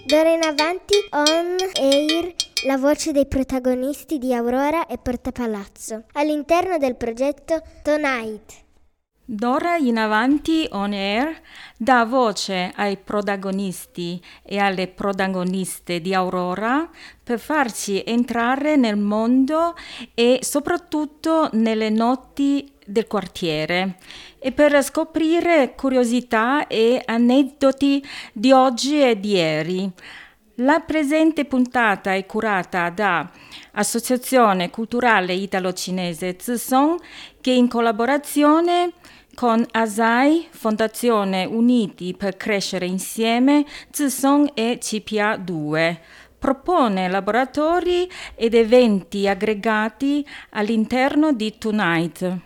D'ora in avanti on air la voce dei protagonisti di Aurora e Portapalazzo all'interno del progetto Tonight. D'ora in avanti on air dà voce ai protagonisti e alle protagoniste di Aurora per farci entrare nel mondo e soprattutto nelle notti del quartiere e per scoprire curiosità e aneddoti di oggi e di ieri. La presente puntata è curata da Associazione Culturale Italo-Cinese Zisong, che in collaborazione con ASAI, Fondazione Uniti per Crescere Insieme, Zisong e CPA2, propone laboratori ed eventi aggregati all'interno di Tonight.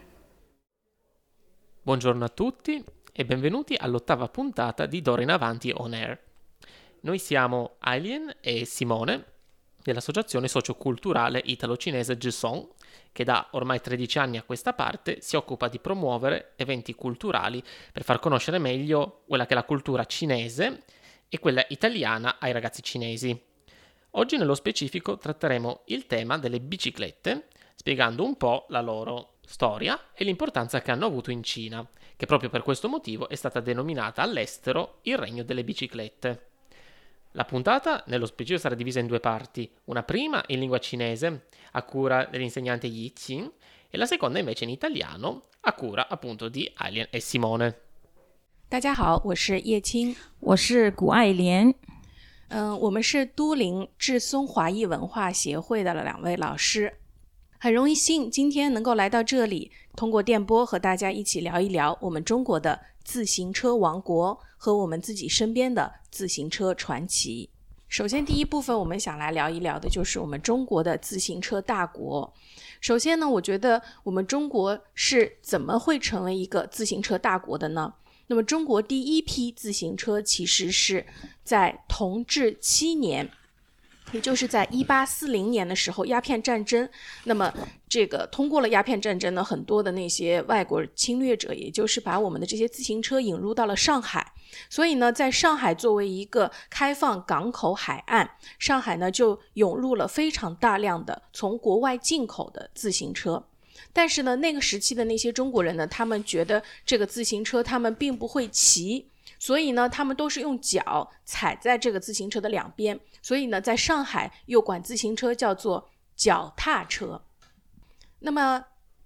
Buongiorno a tutti e benvenuti all'8ª puntata di D'ora in avanti on air. Noi siamo Aileen e Simone dell'Associazione Socioculturale Italo-Cinese Zisong, che da ormai 13 anni a questa parte si occupa di promuovere eventi culturali per far conoscere meglio quella che è la cultura cinese e quella italiana ai ragazzi cinesi. Oggi nello specifico tratteremo il tema delle biciclette, spiegando un po' la loro storia e l'importanza che hanno avuto in Cina, che proprio per questo motivo è stata denominata all'estero il Regno delle Biciclette. La puntata nello specifico sarà divisa in 2 parti, una prima in lingua cinese a cura dell'insegnante Yi Qin e la seconda invece in italiano a cura appunto di Aileen e Simone. 大家好，我是叶青， 我是谷爱莲。 我们是都灵智松华裔文化协会的2位老师，很荣幸今天能够来到这里，通过电波和大家一起聊一聊我们中国的自行车王国和我们自己身边的自行车传奇。首先第一部分我们想来聊一聊的就是我们中国的自行车大国。首先呢，我觉得我们中国是怎么会成为一个自行车大国的呢？那么中国第一批自行车其实是在同治7年，也就是在1840年的时候，鸦片战争，那么这个通过了鸦片战争呢，很多的那些外国侵略者也就是把我们的这些自行车引入到了上海，所以呢在上海作为一个开放港口海岸，上海呢就涌入了非常大量的从国外进口的自行车。但是呢那个时期的那些中国人呢，他们觉得这个自行车他们并不会骑，所以呢他们都是用脚踩在这个自行车的两边，所以呢在上海又管自行车叫做脚踏车。那么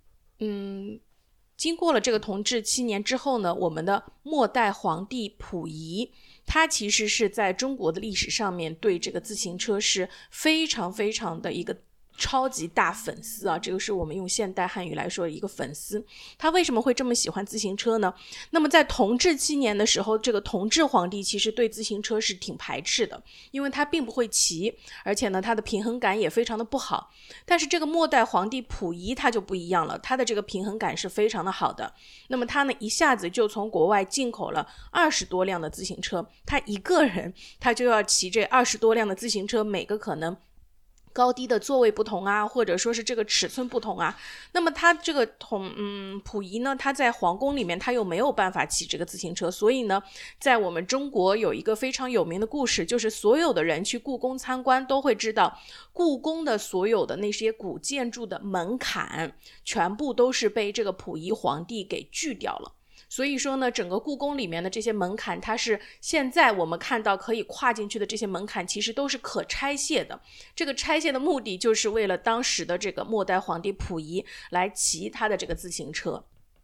经过了这个同治7年之后呢，我们的末代皇帝溥仪，他其实是在中国的历史上面对这个自行车是非常非常的一个超级大粉丝啊，这个是我们用现代汉语来说的一个粉丝。他为什么会这么喜欢自行车呢？那么在同治7年的时候，这个同治皇帝其实对自行车是挺排斥的，因为他并不会骑，而且呢他的平衡感也非常的不好。但是这个末代皇帝溥仪他就不一样了，他的这个平衡感是非常的好的。那么他呢一下子就从国外进口了20多辆的自行车，他一个人他就要骑这20多辆的自行车，每个可能高低的座位不同啊，或者说是这个尺寸不同啊。那么他这个溥仪呢，他在皇宫里面他又没有办法骑这个自行车，所以呢在我们中国有一个非常有名的故事，就是所有的人去故宫参观都会知道，故宫的所有的那些古建筑的门槛全部都是被这个溥仪皇帝给锯掉了。所以说呢整个故宫里面的这些门槛，它是现在我们看到可以跨进去的这些门槛其实都是可拆卸的，这个拆卸的目的就是为了当时的这个末代皇帝溥仪来骑他的这个自行车。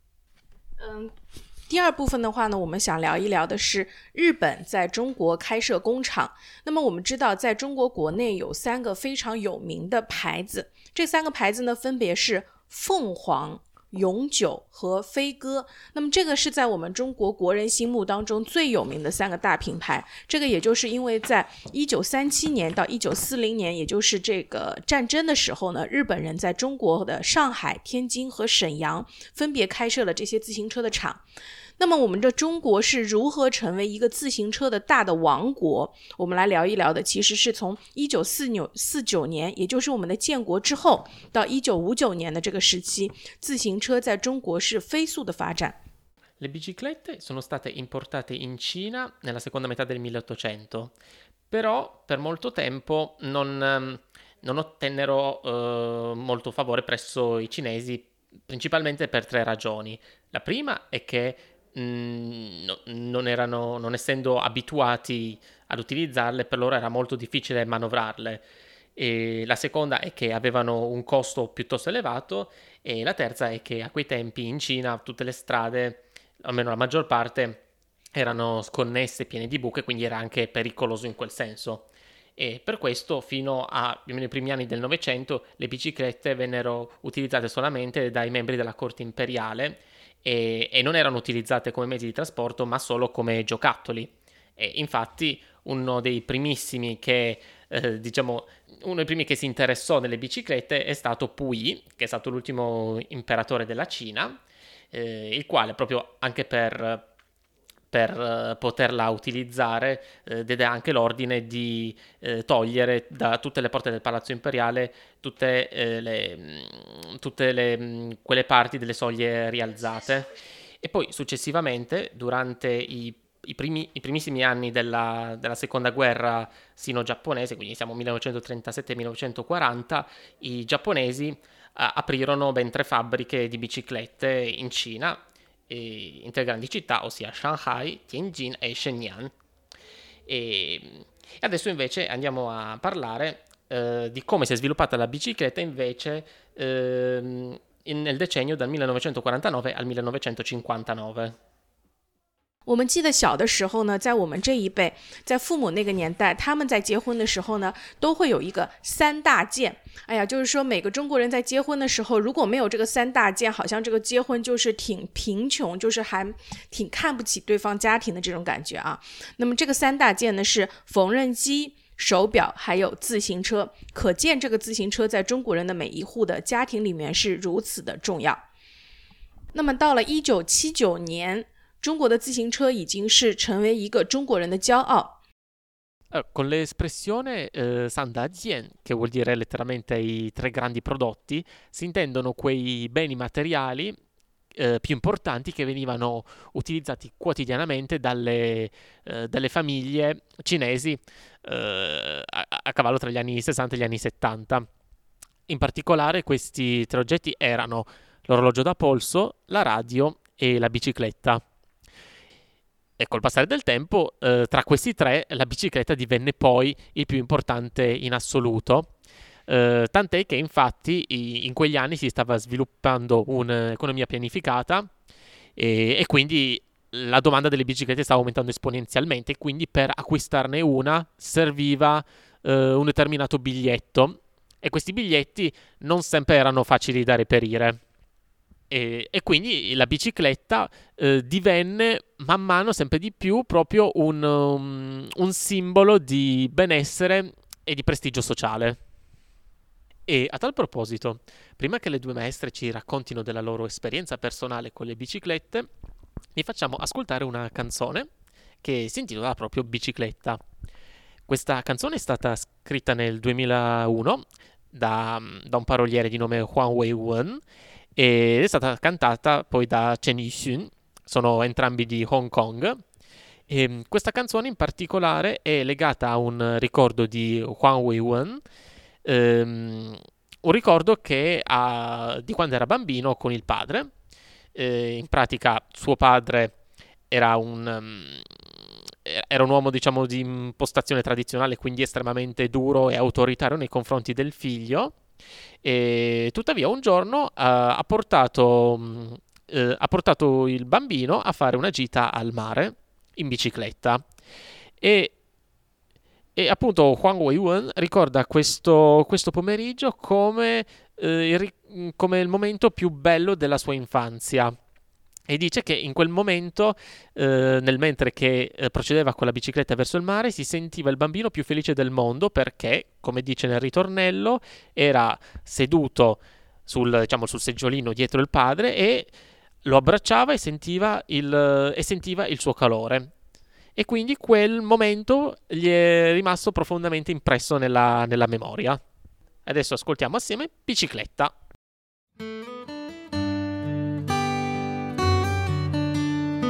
第二部分的话呢，我们想聊一聊的是日本在中国开设工厂。那么我们知道在中国国内有3个非常有名的牌子，这3个牌子呢分别是凤凰、永久和飞鸽。那么这个是在我们中国国人心目当中最有名的3个大品牌，这个也就是因为在1937年到1940年，也就是这个战争的时候呢，日本人在中国的上海、天津和沈阳分别开设了这些自行车的厂。那么我们的中国是如何成为一个自行车的大的王国，我们来聊一聊的其实是从1949年，也就是我们的建国之后到1959年的这个时期，自行车在中国是飞速的发展。 Le biciclette sono state importate in Cina nella seconda metà del 1800, però per molto tempo non ottennero molto favore presso i cinesi, principalmente per 3 ragioni. La prima è che non essendo abituati ad utilizzarle, per loro era molto difficile manovrarle. E la seconda è che avevano un costo piuttosto elevato, e la terza è che a quei tempi in Cina tutte le strade, almeno la maggior parte, erano sconnesse, piene di buche, quindi era anche pericoloso in quel senso. E per questo fino ai primi anni del Novecento le biciclette vennero utilizzate solamente dai membri della corte imperiale e non erano utilizzate come mezzi di trasporto, ma solo come giocattoli. E infatti uno dei primissimi che si interessò delle biciclette è stato Puyi, che è stato l'ultimo imperatore della Cina, il quale proprio anche per poterla utilizzare diede anche l'ordine di togliere da tutte le porte del palazzo imperiale quelle parti delle soglie rialzate. E poi successivamente, durante i primissimi anni della seconda guerra sino-giapponese, quindi siamo 1937-1940, i giapponesi aprirono ben 3 fabbriche di biciclette in Cina, in 3 grandi città, ossia Shanghai, Tianjin e Shenyang. E adesso invece andiamo a parlare di come si è sviluppata la bicicletta invece nel decennio dal 1949 al 1959. 我们记得小的时候呢，在我们这一辈，在父母那个年代，他们在结婚的时候呢，都会有一个3大件。哎呀，就是说每个中国人在结婚的时候，如果没有这个3大件，好像这个结婚就是挺贫穷，就是还挺看不起对方家庭的这种感觉啊。那么这个3大件呢是缝纫机、手表还有自行车，可见这个自行车在中国人的每一户的家庭里面是如此的重要。那么到了1979年，中国的自行车已经是成为一个中国人的骄傲。 Con l'espressione Sandazien, che vuol dire letteralmente i 3 grandi prodotti, si intendono quei beni materiali più importanti che venivano utilizzati quotidianamente dalle famiglie cinesi a cavallo tra gli anni 60 e gli anni 70. In particolare questi 3 oggetti erano l'orologio da polso, la radio e la bicicletta. E col passare del tempo, tra questi 3, la bicicletta divenne poi il più importante in assoluto, tant'è che infatti in quegli anni si stava sviluppando un'economia pianificata e quindi la domanda delle biciclette stava aumentando esponenzialmente, quindi per acquistarne una serviva un determinato biglietto, e questi biglietti non sempre erano facili da reperire. E quindi la bicicletta divenne man mano sempre di più proprio un simbolo di benessere e di prestigio sociale. E a tal proposito, prima che le 2 maestre ci raccontino della loro esperienza personale con le biciclette, vi facciamo ascoltare una canzone che si intitola proprio Bicicletta. Questa canzone è stata scritta nel 2001 da un paroliere di nome Huang Weiwen, ed è stata cantata poi da Chen Yixun, sono entrambi di Hong Kong. E questa canzone in particolare è legata a un ricordo di Huang Weiwen, un ricordo che ha di quando era bambino con il padre. In pratica suo padre era un uomo, diciamo, di impostazione tradizionale, quindi estremamente duro e autoritario nei confronti del figlio. E tuttavia un giorno ha portato il bambino a fare una gita al mare in bicicletta, e appunto Huang Weiwen ricorda questo pomeriggio come il momento più bello della sua infanzia, e dice che in quel momento, mentre che procedeva con la bicicletta verso il mare, si sentiva il bambino più felice del mondo perché, come dice nel ritornello, era seduto sul seggiolino dietro il padre e lo abbracciava e sentiva il suo calore. E quindi quel momento gli è rimasto profondamente impresso nella memoria. Adesso ascoltiamo assieme Bicicletta.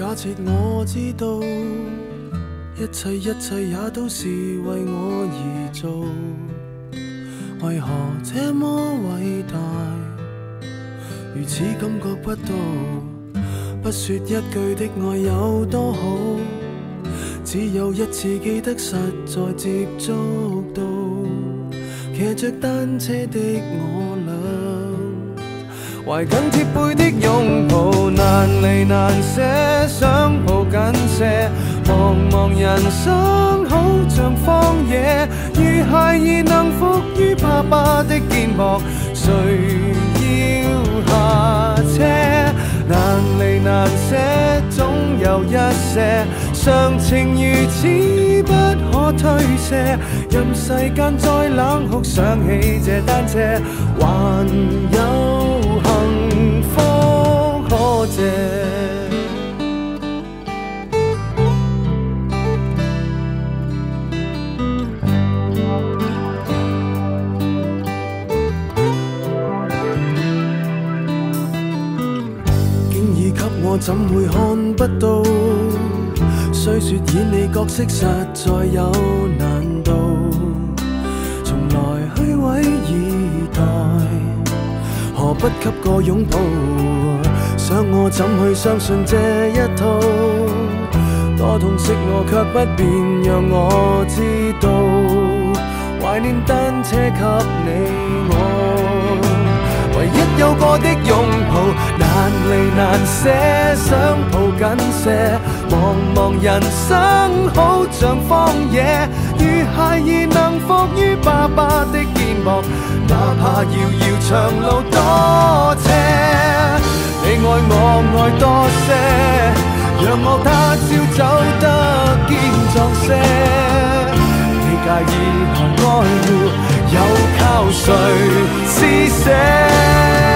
假設我知道一切也都是為我而做，為何這麼偉大，如此感覺不到，不說一句的愛有多好，只有一次記得實在接觸到，騎着單車的我倆，懷緊貼背的擁抱，難離難捨，想抱緊些，茫茫人生好像荒野，如孩兒能伏於爸爸的肩膊，誰要下車？難離難捨，總有一些常情如此不可推卸，任世間再冷酷，想起這單車，還有幸福可借。我怎會看不到？雖說演你角色實在有難度，從來虛偽以待，何不給個擁抱？想我怎去相信這一套？多痛惜我卻不便讓我知道，懷念單車給你我。唯一有過的擁抱，難離難捨，想抱緊些，茫茫人生好像荒野，如孩兒能伏於爸爸的肩膊，哪怕遙遙長路多斜，你愛我愛多些，讓我他朝走得堅壯些，你介意和愛護又靠誰施捨？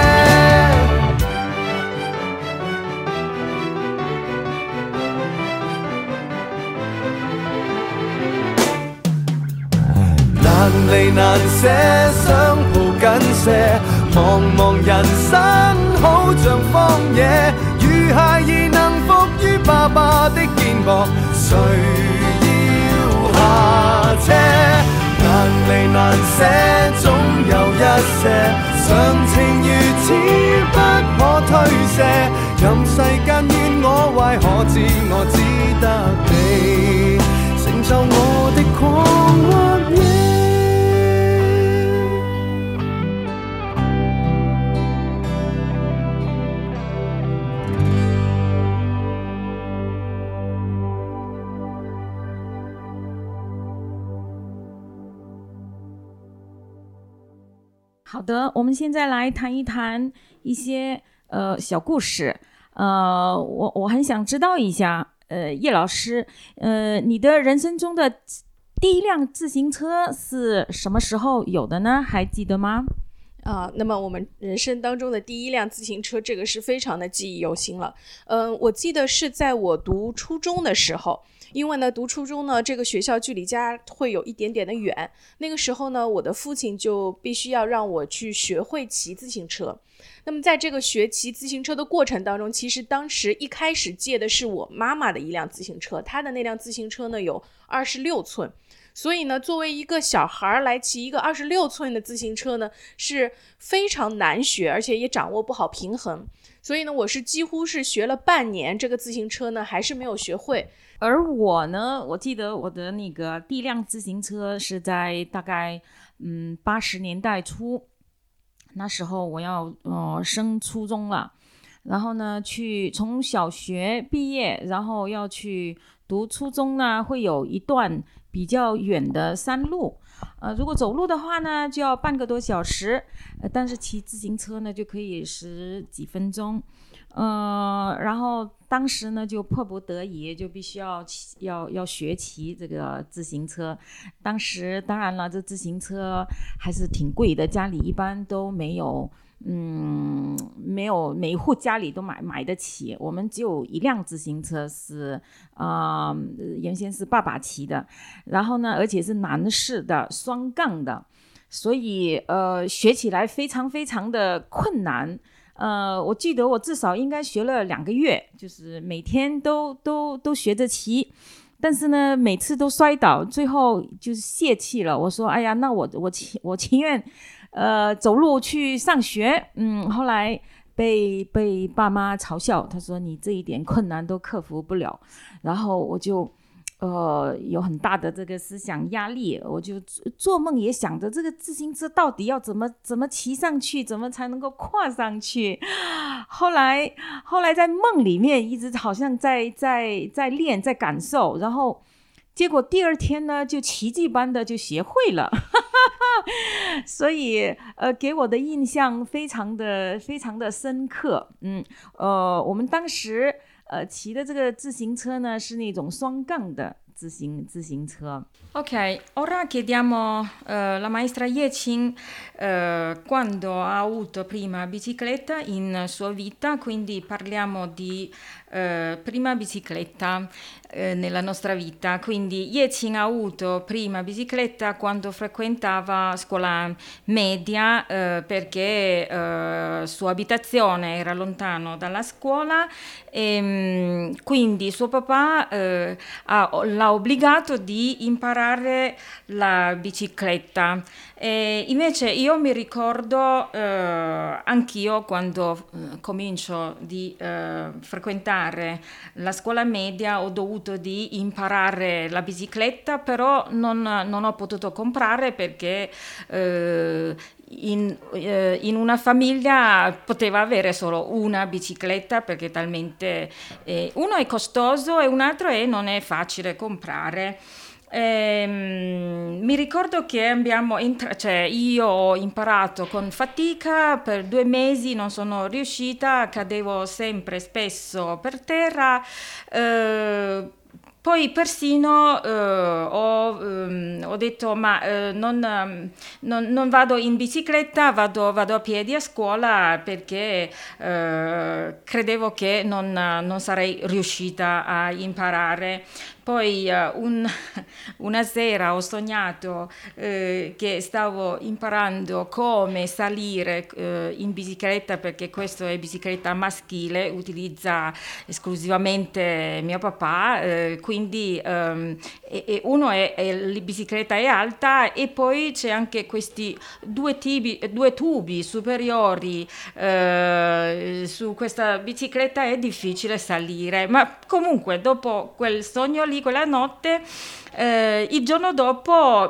難離難捨，想抱緊些，茫茫人生好像荒野，如孩兒能伏於爸爸的肩膊，誰要下車？難離難捨，總有一些常情如此不可推卸，任世間怨我壞，可知我只得你承受我的狂或野。 好的，我们现在来谈一谈一些小故事。我很想知道一下，叶老师，你的人生中的第一辆自行车是什么时候有的呢？还记得吗？ 那么我们人生当中的第一辆自行车，这个是非常的记忆犹新了。我记得是在我读初中的时候，因为呢读初中呢这个学校距离家会有一点点的远，那个时候呢我的父亲就必须要让我去学会骑自行车。那么在这个学骑自行车的过程当中，其实当时一开始借的是我妈妈的一辆自行车，她的那辆自行车呢有26寸，所以呢作为一个小孩来骑一个26寸的自行车呢是非常难学，而且也掌握不好平衡，所以呢我是几乎是学了半年，这个自行车呢还是没有学会。 而我呢，我记得我的那个第一辆自行车是在大概80年代初，那时候我要升初中了，然后呢从小学毕业，然后要去读初中呢，会有一段比较远的山路，如果走路的话呢就要半个多小时，但是骑自行车呢就可以10几分钟。然后当时呢就迫不得已就必须要学骑这个自行车。当时当然了，这自行车还是挺贵的，家里一般都没有没有每一户家里都买得起。我们只有一辆自行车是原先是爸爸骑的，然后呢而且是男士的双杠的，所以学起来非常非常的困难。 我记得我至少应该学了2个月，就是每天都学着骑。但是呢，每次都摔倒，最后就是泄气了。我说：“哎呀，那我情愿走路去上学。”后来被爸妈嘲笑，他说：“你这一点困难都克服不了。”然后我就有很大的这个思想压力，我就做梦也想着这个自行车到底要怎么骑上去，怎么才能够跨上去。后来在梦里面一直好像在练，在感受，然后结果第2天呢就奇迹般的就学会了。所以给我的印象非常的深刻。我们当时骑的这个自行车呢是那种双杠的自行车。 Ok, ora chiediamo la maestra Ye-Qing quando ha avuto prima bicicletta in sua vita, quindi parliamo di prima bicicletta nella nostra vita. Quindi Ye-Qing ha avuto prima bicicletta quando frequentava scuola media perché sua abitazione era lontano dalla scuola e quindi suo papà l'ha obbligato di imparare la bicicletta. E invece io mi ricordo anch'io quando comincio di frequentare la scuola media ho dovuto di imparare la bicicletta, però non ho potuto comprare perché in una famiglia poteva avere solo una bicicletta perché talmente uno è costoso e un altro non è facile comprare. Mi ricordo che io ho imparato con fatica, per 2 mesi non sono riuscita, cadevo sempre spesso per terra. Poi persino ho detto non vado in bicicletta, vado a piedi a scuola perché credevo che non sarei riuscita a imparare. Poi una sera ho sognato che stavo imparando come salire in bicicletta perché questa è bicicletta maschile, utilizza esclusivamente mio papà, quindi uno la bicicletta è alta e poi c'è anche questi 2 tubi superiori, su questa bicicletta è difficile salire, ma comunque dopo quel sogno lì, quella notte, il giorno dopo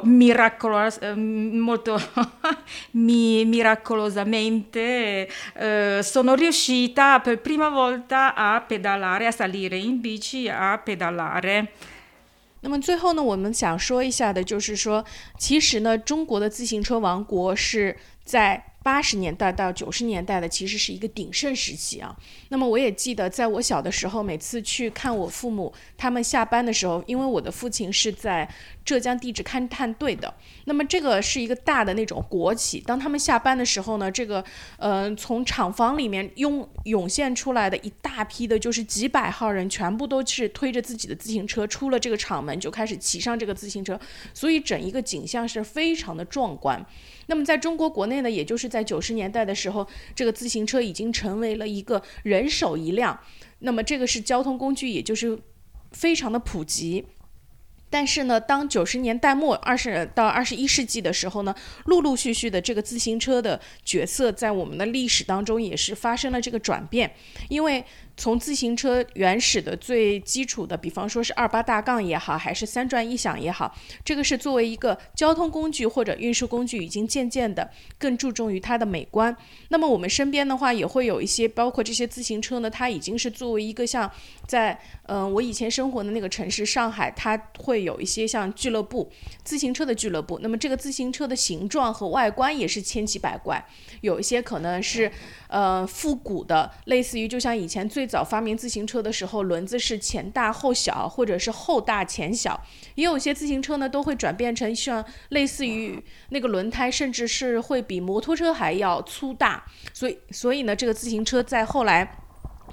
miracolosamente sono riuscita per prima volta a pedalare, a salire in bici, a pedalare. 那么最后呢，我们想说一下的就是说，其实呢，中国的自行车王国是在80年代到90年代的，其实是一个鼎盛时期啊。那么我也记得，在我小的时候，每次去看我父母他们下班的时候，因为我的父亲是在浙江地质勘探队的，那么这个是一个大的那种国企。当他们下班的时候呢，这个从厂房里面涌现出来的一大批的，就是几百号人，全部都是推着自己的自行车出了这个厂门，就开始骑上这个自行车，所以整一个景象是非常的壮观。那么在中国国内呢，也就是在90年代的时候，这个自行车已经成为了一个人手一辆，那么这个是交通工具，也就是非常的普及。但是呢，当90年代末20到21世纪的时候呢，陆陆续续的这个自行车的角色在我们的历史当中也是发生了这个转变。因为从自行车原始的最基础的，比方说是28大杠也好，还是3转1响也好，这个是作为一个交通工具或者运输工具，已经渐渐的更注重于它的美观。那么我们身边的话也会有一些，包括这些自行车呢，它已经是作为一个像在我以前生活的那个城市上海，它会有一些像俱乐部，自行车的俱乐部。那么这个自行车的形状和外观也是千奇百怪，有一些可能是复古的，类似于就像以前最早发明自行车的时候，轮子是前大后小，或者是后大前小。也有些自行车呢都会转变成像类似于那个轮胎甚至是会比摩托车还要粗大，所以呢这个自行车在后来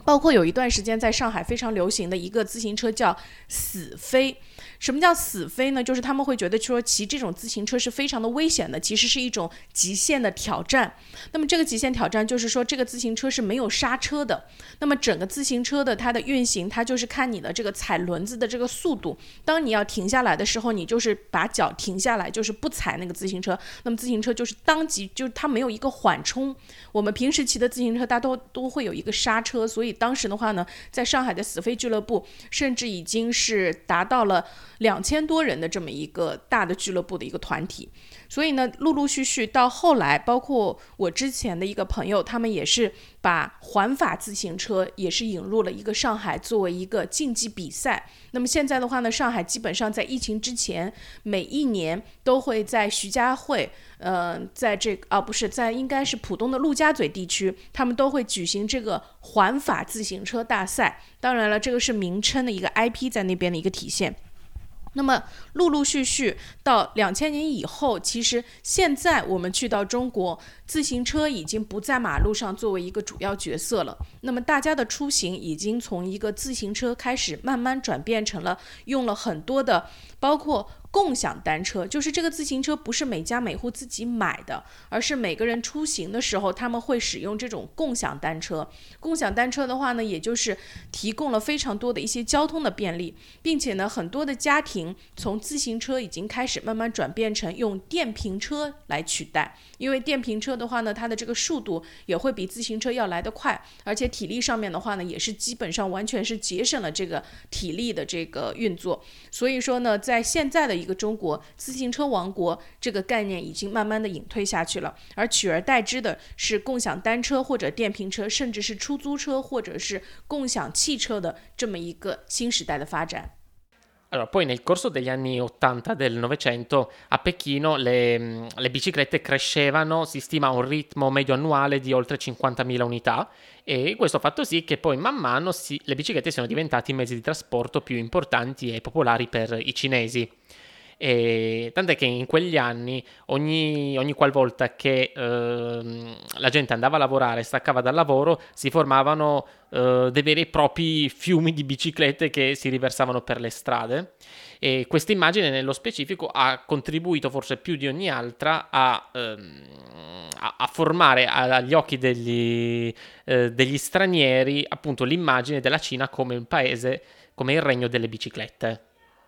包括有一段时间在上海非常流行的一个自行车叫死飞。什么叫死飞呢？就是他们会觉得说骑这种自行车是非常的危险的，其实是一种极限的挑战。那么这个极限挑战就是说这个自行车是没有刹车的，那么整个自行车的它的运行，它就是看你的这个踩轮子的这个速度。当你要停下来的时候，你就是把脚停下来，就是不踩那个自行车，那么自行车就是当即就是它没有一个缓冲。我们平时骑的自行车它都会有一个刹车，所以当时的话呢，在上海的死飞俱乐部甚至已经是达到了2000多人的这么一个大的俱乐部的一个团体。所以呢，陆陆续续到后来，包括我之前的一个朋友，他们也是把环法自行车也是引入了一个上海作为一个竞技比赛。那么现在的话呢，上海基本上在疫情之前，每一年都会在徐家汇，在这个不是在应该是浦东的陆家嘴地区，他们都会举行这个环法自行车大赛。当然了，这个是名称的一个 IP 在那边的一个体现。那么陆陆续续到2000年以后，其实现在我们去到中国，自行车已经不在马路上作为一个主要角色了。那么大家的出行已经从一个自行车开始慢慢转变成了用了很多的，包括共享单车，就是这个自行车不是每家每户自己买的，而是每个人出行的时候他们会使用这种共享单车。共享单车的话呢，也就是提供了非常多的一些交通的便利，并且呢，很多的家庭从自行车已经开始慢慢转变成用电瓶车来取代。因为电瓶车的话呢，它的这个速度也会比自行车要来得快，而且体力上面的话呢，也是基本上完全是节省了这个体力的这个运作。所以说呢，在现在的一个中国，自行车王国这个概念已经慢慢的隐退下去了，而取而代之的是共享单车或者电瓶车，甚至是出租车或者是共享汽车的这么一个新时代的发展。 Allora, poi nel corso degli anni 80 del Novecento a Pechino le biciclette crescevano, si stima un ritmo medio annuale di oltre 50.000 unità, e questo ha fatto sì che poi man mano le biciclette siano diventate i mezzi di trasporto più importanti e popolari per i cinesi. E tant'è che in quegli anni ogni qualvolta che la gente andava a lavorare, staccava dal lavoro, si formavano dei veri e propri fiumi di biciclette che si riversavano per le strade, e questa immagine nello specifico ha contribuito forse più di ogni altra a formare agli occhi degli stranieri appunto l'immagine della Cina come un paese, come il regno delle biciclette.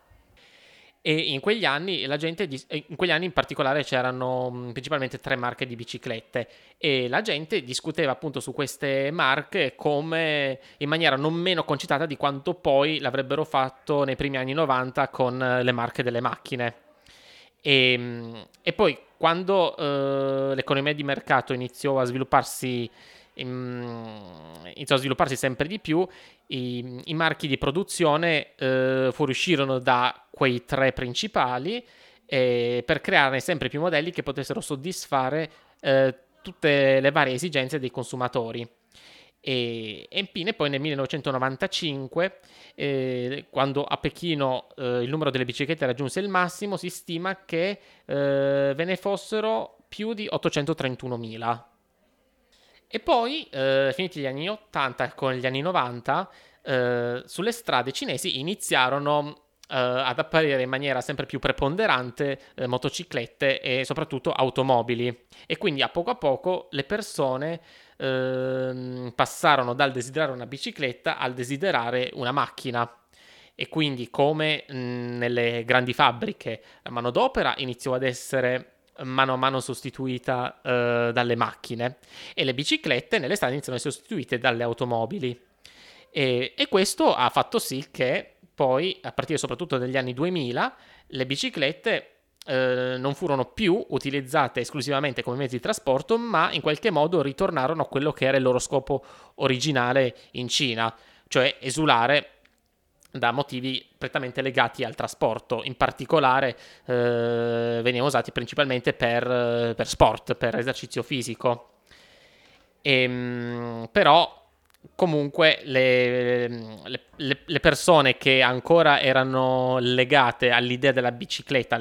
E in quegli anni in particolare c'erano principalmente 3 marche di biciclette, e la gente discuteva appunto su queste marche come in maniera non meno concitata di quanto poi l'avrebbero fatto nei primi anni 90 con le marche delle macchine. E poi quando l'economia di mercato iniziò a svilupparsi sempre di più, i marchi di produzione fuoriuscirono da quei 3 principali per crearne sempre più modelli che potessero soddisfare tutte le varie esigenze dei consumatori. E infine poi nel 1995, quando a Pechino il numero delle biciclette raggiunse il massimo, si stima che ve ne fossero più di 831.000. E poi, finiti gli anni 80 con gli anni 90, sulle strade cinesi iniziarono ad apparire in maniera sempre più preponderante motociclette e soprattutto automobili, e quindi a poco le persone passarono dal desiderare una bicicletta al desiderare una macchina. E quindi, come nelle grandi fabbriche, la manodopera iniziò ad essere mano a mano sostituita dalle macchine, e le biciclette nelle strade iniziano a essere sostituite dalle automobili, e questo ha fatto sì che poi, a partire soprattutto dagli anni 2000, le biciclette non furono più utilizzate esclusivamente come mezzi di trasporto, ma in qualche modo ritornarono a quello che era il loro scopo originale in Cina, cioè esulare da motivi prettamente legati al trasporto. In particolare venivano usati principalmente per sport, per esercizio fisico. Però comunque le persone che ancora erano legate all'idea della bicicletta,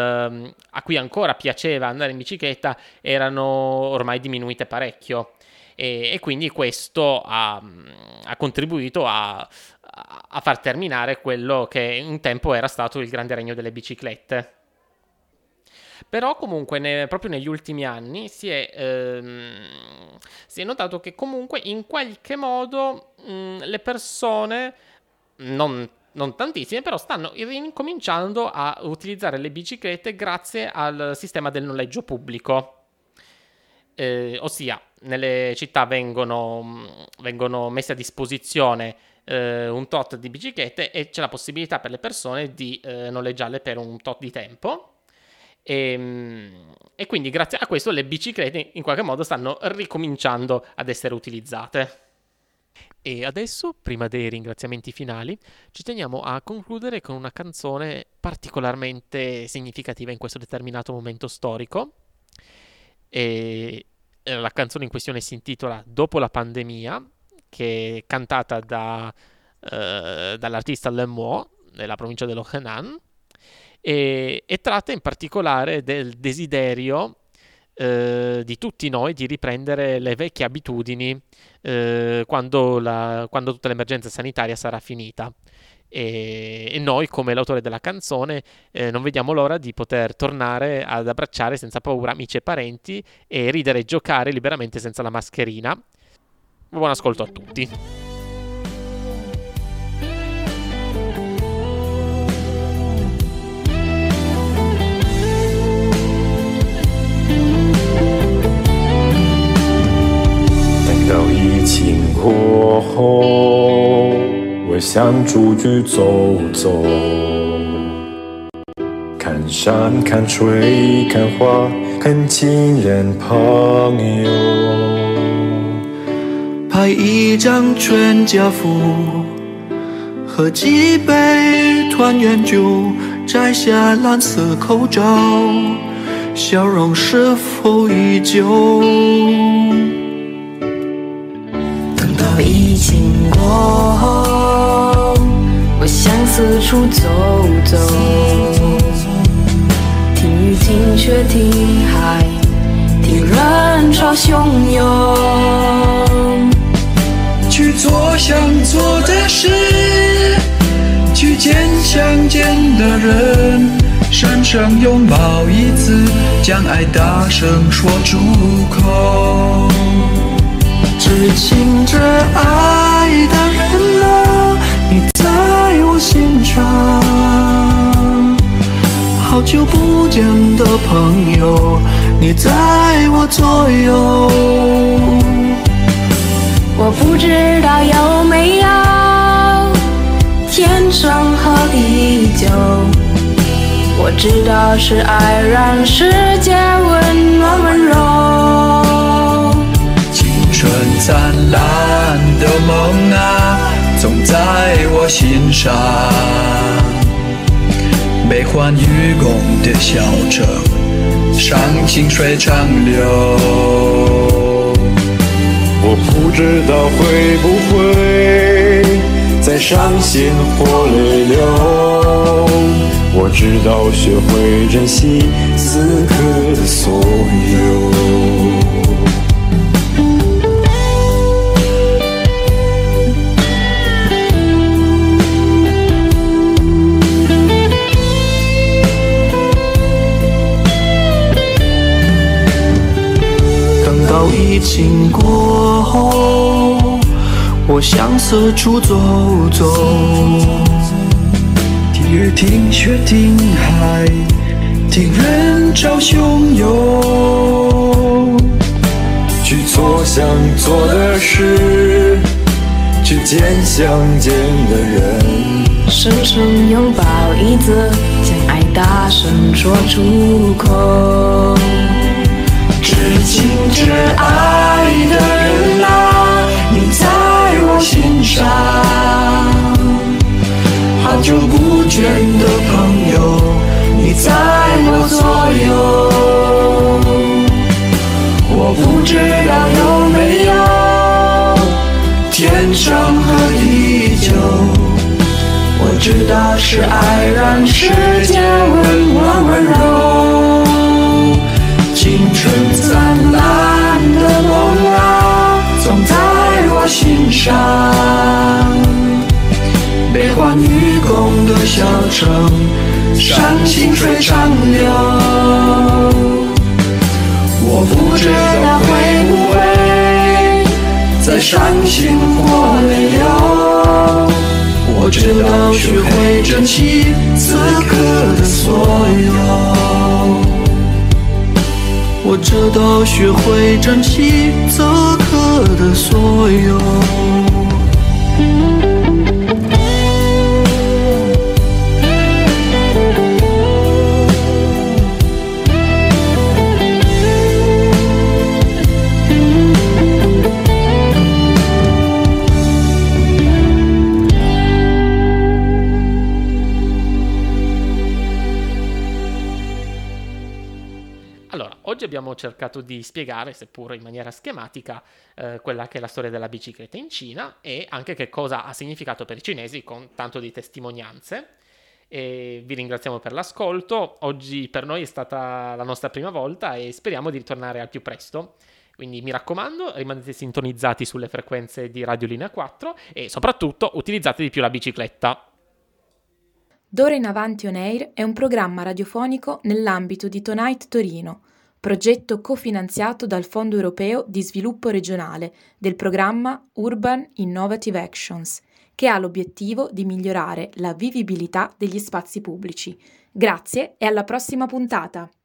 a cui ancora piaceva andare in bicicletta, erano ormai diminuite parecchio. e quindi questo ha contribuito a far terminare quello che un tempo era stato il grande regno delle biciclette. Però comunque proprio negli ultimi anni si è notato che comunque in qualche modo le persone, non tantissime, però stanno incominciando a utilizzare le biciclette grazie al sistema del noleggio pubblico. Ossia, nelle città vengono messe a disposizione un tot di biciclette e c'è la possibilità per le persone di noleggiarle per un tot di tempo. E quindi grazie a questo le biciclette in qualche modo stanno ricominciando ad essere utilizzate. E adesso, prima dei ringraziamenti finali, ci teniamo a concludere con una canzone particolarmente significativa in questo determinato momento storico. E la canzone in questione si intitola Dopo la pandemia, che è cantata dall'artista Le Mo della provincia dello Henan, e tratta in particolare del desiderio di tutti noi di riprendere le vecchie abitudini quando tutta l'emergenza sanitaria sarà finita. E noi, come l'autore della canzone, non vediamo l'ora di poter tornare ad abbracciare senza paura amici e parenti e ridere e giocare liberamente senza la mascherina. Buon ascolto a tutti. 过后，我想出去走走，看山看水看花看亲人朋友， 拍一张全家福，喝几杯团圆酒，摘下蓝色口罩，笑容是否依旧？ 等到疫情过后，我想四处走走，听雨听雪听海，听人潮汹涌， 去做想做的事，去见想见的人，深深拥抱一次，将爱大声说出口。至亲至爱的人啊，你在我心上，好久不见的朋友，你在我左右。 我不知道有没有天长和地久，我知道是爱让世界温暖温柔。 青春灿烂的梦啊，总在我心上。悲欢与共的小城，上清水长流。 我不知道会不会再伤心或泪流，我知道学会珍惜此刻的所有。 等到疫情过后，我想四处走走，听雨听雪听海，听人潮汹涌， 去做想做的事，去见想见的人， 深深拥抱一次，将爱大声说出口。 至亲至爱的人啊，你在我心上，好久不见的朋友，你在我左右。我不知道有没有天长和地久，我知道是爱让世界温暖温柔。青春灿烂的梦啊， 程，山清水长流。我不知道会不会再伤心或泪流，我知道学会珍惜此刻的所有，我知道学会珍惜此刻的所有。 Oggi abbiamo cercato di spiegare, seppur in maniera schematica, quella che è la storia della bicicletta in Cina e anche che cosa ha significato per i cinesi con tanto di testimonianze. E vi ringraziamo per l'ascolto. Oggi per noi è stata la nostra prima volta e speriamo di ritornare al più presto. Quindi mi raccomando, rimanete sintonizzati sulle frequenze di Radio Linea 4 e soprattutto utilizzate di più la bicicletta. D'ora in avanti On Air è un programma radiofonico nell'ambito di Tonight Torino, progetto cofinanziato dal Fondo Europeo di Sviluppo Regionale del programma Urban Innovative Actions, che ha l'obiettivo di migliorare la vivibilità degli spazi pubblici. Grazie e alla prossima puntata!